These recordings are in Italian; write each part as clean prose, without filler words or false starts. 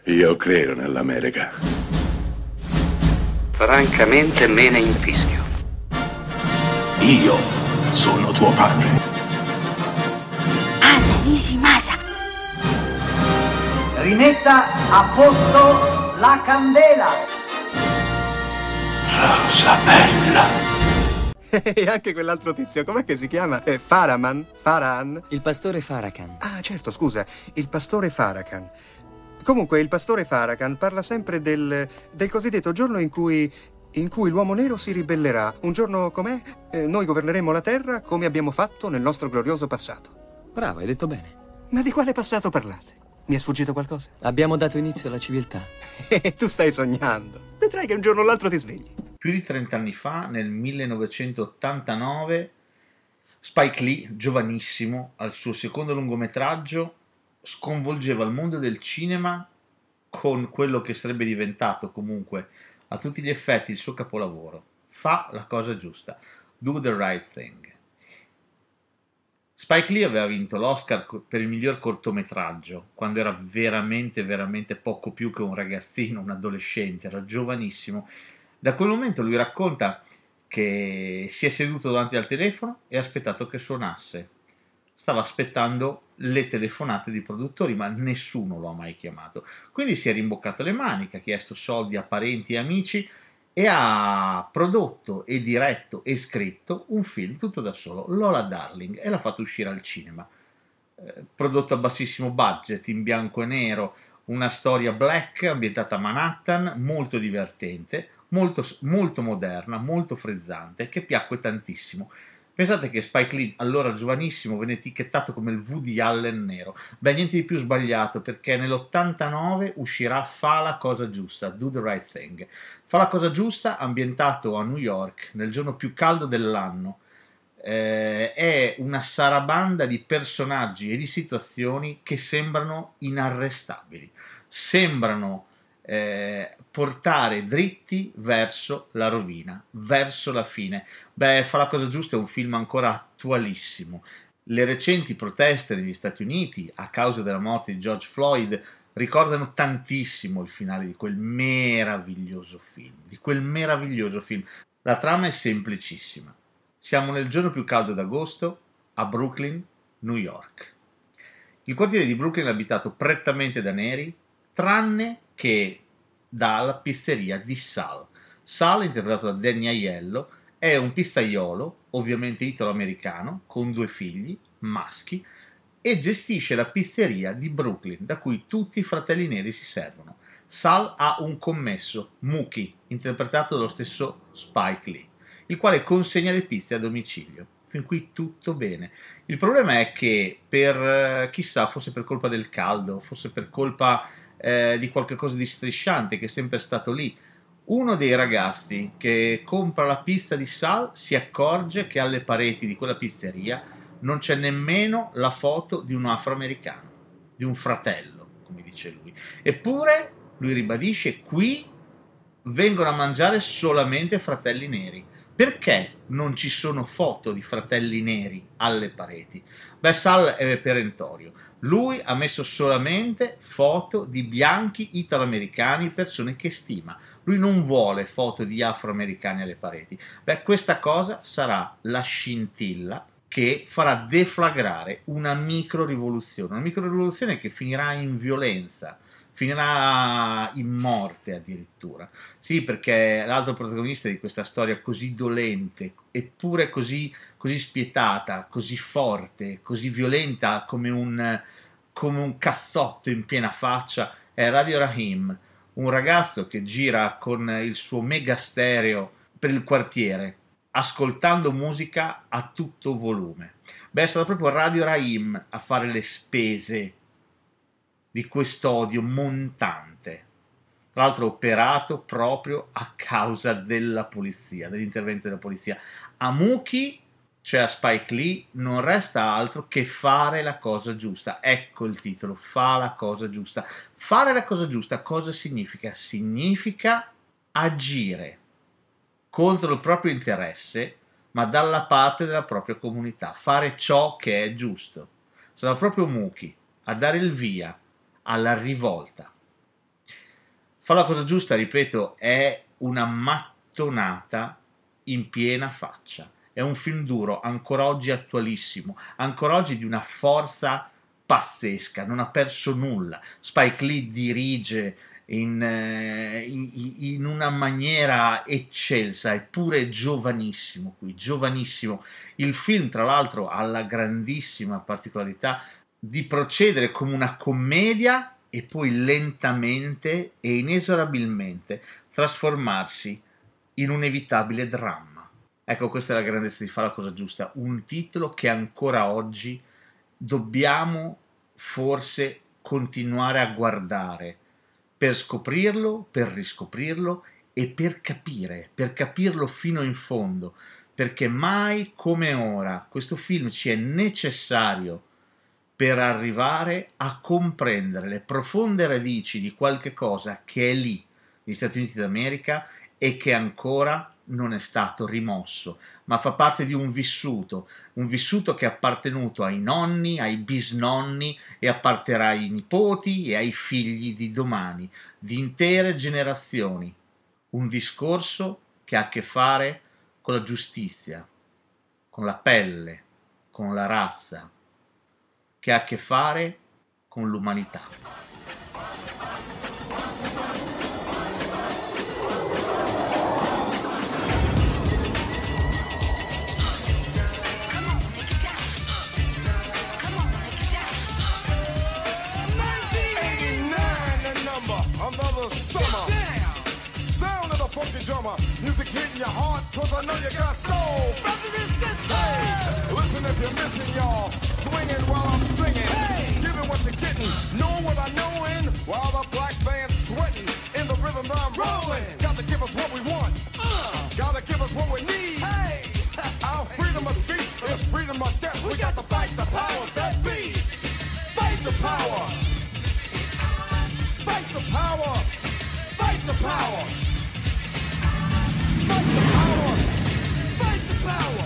Io credo nell'America. Francamente me ne infischio. Io sono tuo padre. Anna Nishimasa. Rimetta a posto la candela. Rosa bella. E anche quell'altro tizio, com'è che si chiama? Farhan? Il pastore Farrakhan. Ah, certo, scusa, il pastore Farrakhan. Comunque, il pastore Farrakhan parla sempre del cosiddetto giorno in cui l'uomo nero si ribellerà. Un giorno com'è? Noi governeremo la terra come abbiamo fatto nel nostro glorioso passato. Bravo, hai detto bene. Ma di quale passato parlate? Mi è sfuggito qualcosa? Abbiamo dato inizio alla civiltà. Tu stai sognando. Vedrai che un giorno o l'altro ti svegli. Più di 30 anni fa, nel 1989, Spike Lee, giovanissimo, al suo secondo lungometraggio, sconvolgeva il mondo del cinema con quello che sarebbe diventato comunque a tutti gli effetti il suo capolavoro. Fa la cosa giusta. Do the right thing. Spike Lee aveva vinto l'Oscar per il miglior cortometraggio quando era veramente, veramente poco più che un ragazzino, un adolescente, era giovanissimo. Da quel momento lui racconta che si è seduto davanti al telefono e ha aspettato che suonasse. Stava aspettando le telefonate di produttori, ma nessuno lo ha mai chiamato. Quindi si è rimboccato le maniche, ha chiesto soldi a parenti e amici e ha prodotto e diretto e scritto un film tutto da solo, Lola Darling, e l'ha fatto uscire al cinema. Prodotto a bassissimo budget, in bianco e nero, una storia black ambientata a Manhattan, molto divertente, molto, molto moderna, molto frizzante, che piacque tantissimo. Pensate che Spike Lee, allora giovanissimo, venne etichettato come il Woody Allen nero. Beh, niente di più sbagliato, perché nell'89 uscirà Fa la cosa giusta, Do the Right Thing. Fa la cosa giusta, ambientato a New York, nel giorno più caldo dell'anno. È una sarabanda di personaggi e di situazioni che sembrano inarrestabili. Sembrano portare dritti verso la rovina, verso la fine. Beh, Fa la cosa giusta è un film ancora attualissimo. Le recenti proteste negli Stati Uniti a causa della morte di George Floyd ricordano tantissimo il finale di quel meraviglioso film. La trama è semplicissima. Siamo nel giorno più caldo d'agosto a Brooklyn, New York. Il quartiere di Brooklyn è abitato prettamente da neri, tranne che dalla pizzeria di Sal. Sal, interpretato da Danny Aiello, è un pizzaiolo, ovviamente italo-americano, con 2 figli, maschi, e gestisce la pizzeria di Brooklyn, da cui tutti i fratelli neri si servono. Sal ha un commesso, Mookie, interpretato dallo stesso Spike Lee, il quale consegna le pizze a domicilio. Fin qui tutto bene. Il problema è che chissà, forse per colpa del caldo, forse per colpa di qualche cosa di strisciante che è sempre stato lì, uno dei ragazzi che compra la pizza di Sal si accorge che alle pareti di quella pizzeria non c'è nemmeno la foto di un afroamericano, di un fratello, come dice lui. Eppure lui ribadisce: qui vengono a mangiare solamente fratelli neri. Perché non ci sono foto di fratelli neri alle pareti? Beh, Sal è perentorio. Lui ha messo solamente foto di bianchi italoamericani, persone che stima. Lui non vuole foto di afroamericani alle pareti. Beh, questa cosa sarà la scintilla che farà deflagrare una micro-rivoluzione che finirà in violenza, finirà in morte addirittura. Sì, perché l'altro protagonista di questa storia così dolente, eppure così spietata, così forte, così violenta come un cazzotto in piena faccia, è Radio Rahim, un ragazzo che gira con il suo mega stereo per il quartiere, ascoltando musica a tutto volume. Beh, è stato proprio Radio Rahim a fare le spese di quest'odio montante, tra l'altro operato proprio a causa della polizia, dell'intervento della polizia. A Mookie, cioè a Spike Lee, non resta altro che fare la cosa giusta. Ecco il titolo, Fa la cosa giusta. Fare la cosa giusta cosa significa? Significa agire contro il proprio interesse, ma dalla parte della propria comunità, fare ciò che è giusto. Sarà proprio Mookie a dare il via alla rivolta Fa la cosa giusta, ripeto, è una mattonata in piena faccia. È un film duro, ancora oggi attualissimo, ancora oggi di una forza pazzesca, non ha perso nulla. Spike Lee dirige in una maniera eccelsa, eppure giovanissimo qui, giovanissimo. Il film, tra l'altro, ha la grandissima particolarità di procedere come una commedia e poi lentamente e inesorabilmente trasformarsi in un inevitabile dramma. Ecco, questa è la grandezza di Fa la cosa giusta, un titolo che ancora oggi dobbiamo forse continuare a guardare per scoprirlo, per riscoprirlo e per capirlo fino in fondo, perché mai come ora questo film ci è necessario per arrivare a comprendere le profonde radici di qualche cosa che è lì, negli Stati Uniti d'America, e che ancora non è stato rimosso, ma fa parte di un vissuto che è appartenuto ai nonni, ai bisnonni e apparterà ai nipoti e ai figli di domani, di intere generazioni. Un discorso che ha a che fare con la giustizia, con la pelle, con la razza, che ha a che fare con l'umanità. Funky drummer, music hitting your heart, cause I know you got soul. Hey, listen if you're missing, y'all. Swinging while I'm singing. Hey, giving what you're getting, know what I knowin'. While the black band's sweating, in the rhythm I'm rolling. Gotta give us what we want. Gotta give us what we need. Hey, our freedom of speech is freedom of death. We got to fight the powers that be. Fight the power. Fight the power. Fight the power. Fight the power! Fight the power!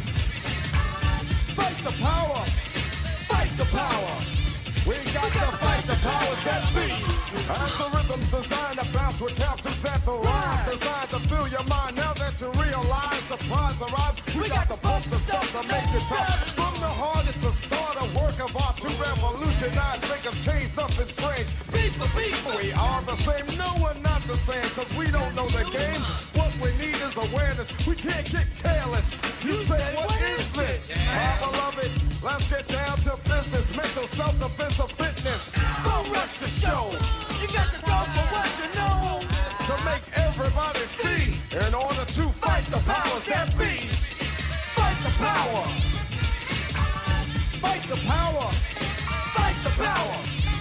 Fight the power! Fight the power! We got to fight the powers that be! As the rhythm's designed to bounce with capsules that thrive, designed to fill your mind now that you realize the prize arrived. We got to pump the stuff to make it tough. From the heart it's a start, a work of art to revolutionize, make a change, nothing strange. Beat the people! We are the same, no we're not the same, cause we don't know the game. What we need is awareness, we can't get careless. You say, what is this? I love it, let's get down to business. Mental self-defense of fitness. Don't rush the show, you got to go for what you know. To make everybody see, in order to fight the powers that be. Fight the power. Fight the power. Fight the power.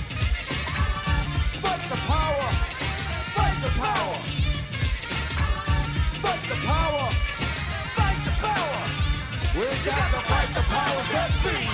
Fight the power. Fight the power. Fight the power. Fight the power. We got to fight the powers that be.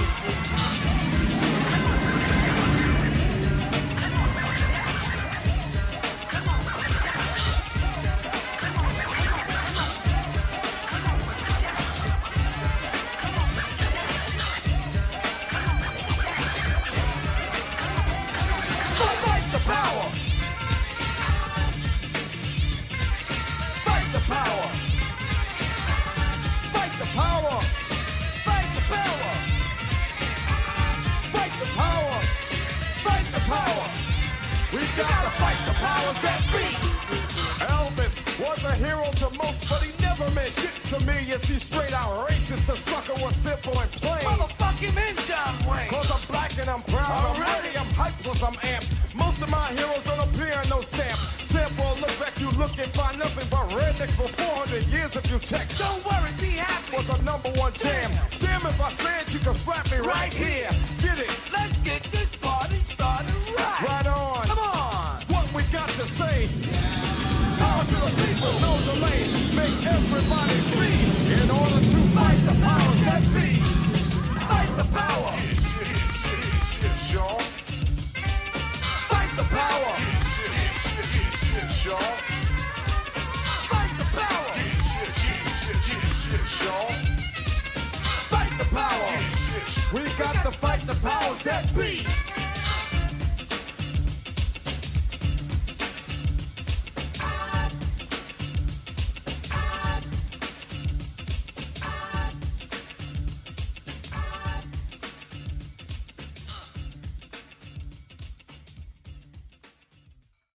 Yes, he's straight out racist. The sucker was simple and plain. Motherfuck him in, John Wayne. Cause I'm black and I'm proud. I'm ready, I'm hyped, plus I'm amped. Most of my heroes don't appear in no stamp. Sample, look back, you look and find nothing but rednecks for 400 years if you check. Don't worry, be happy. Was a number one jam. Damn, if I said you could slap me right here. Get it? Let's get this party started right. Right on. Come on. What we got to say. Power to the people, no delay. Make everybody see. In order to fight the powers that be. Fight the power. Shit, y'all. Fight the power. Shit, y'all. Fight the power. Shit, y'all. Fight the power. We got to fight the powers that be.